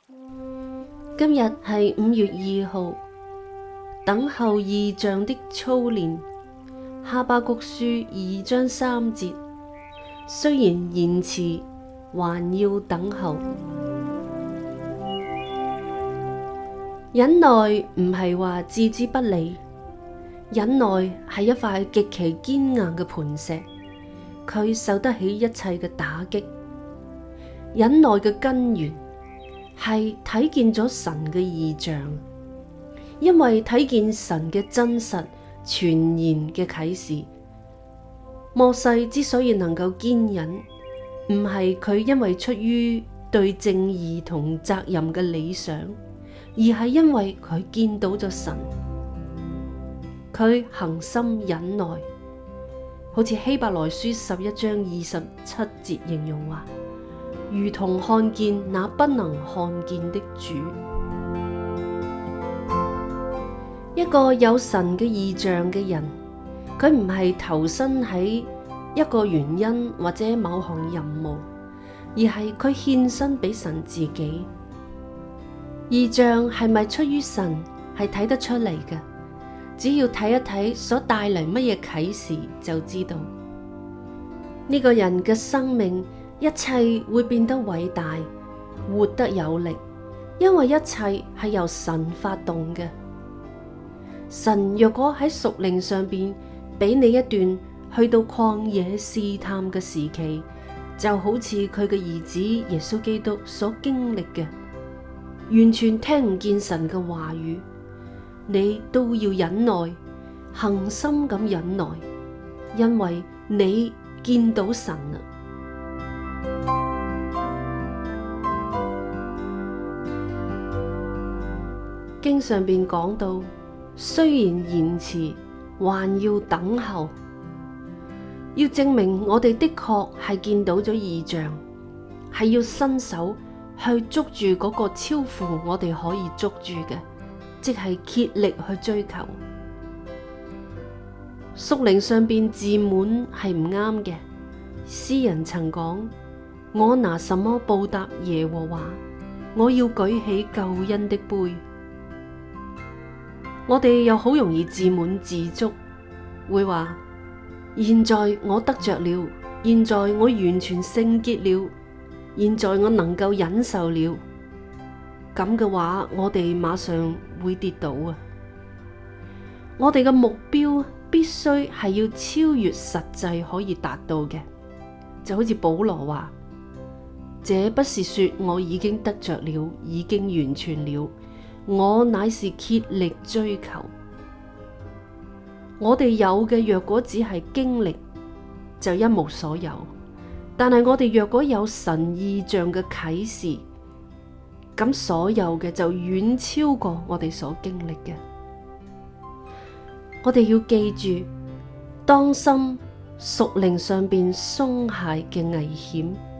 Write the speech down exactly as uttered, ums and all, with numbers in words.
今日係五月二號，等候異象的操練。哈巴谷書二章三節，雖然延遲，還要等候。忍耐唔係話置之不理，忍耐係一塊極其堅硬嘅磐石，佢受得起一切嘅打擊。忍耐嘅根源係睇見咗神嘅異象，因為睇見神嘅真實全然嘅啟示。摩西之所以能夠堅忍，唔係佢因為出於對正義同責任嘅理想，而係因為佢見到咗神，佢恒心忍耐，好似希伯來書十一章二十七節形容話，如同看見那不能看見的主。一個有神嘅異象嘅人，佢唔係投身喺一個原因或者某項任務，而係佢獻身俾神自己。異象係咪出於神，係睇得出嚟嘅，只要睇一睇所帶嚟乜嘢啟示就知道。呢個人嘅生命一切會變得偉大，活得有力，因為一切係由神發動嘅。神若果喺屬靈上邊俾你一段去到曠野試探嘅時期，就好似佢嘅兒子耶穌基督所經歷嘅，完全聽唔見神嘅話語，你都要忍耐，恒心咁忍耐，因為你見到神啦。經上邊講到，雖然延遲，還要等候，要證明我哋的確係見到咗異象，係要伸手去捉住嗰個超乎我哋可以捉住嘅，即係竭力去追求。屬靈上邊自滿係唔啱嘅。詩人曾講：我拿什麼報答耶和華？我要舉起救恩的杯。我哋又好容易自滿自足，會話：現在我得着了，現在我完全聖潔了，現在我能夠忍受了。咁嘅話，我哋馬上會跌倒啊！我哋嘅目標必須係要超越實際可以達到嘅，就好似保羅話：這不是說我已經得着了，已經完全了。我乃是竭力追求。我哋有嘅若果只係經歷，就一無所有；但係我哋若果有神異象嘅啟示，咁所有嘅就遠超過我哋所經歷嘅。我哋要記住，當心屬靈上邊鬆懈嘅危險。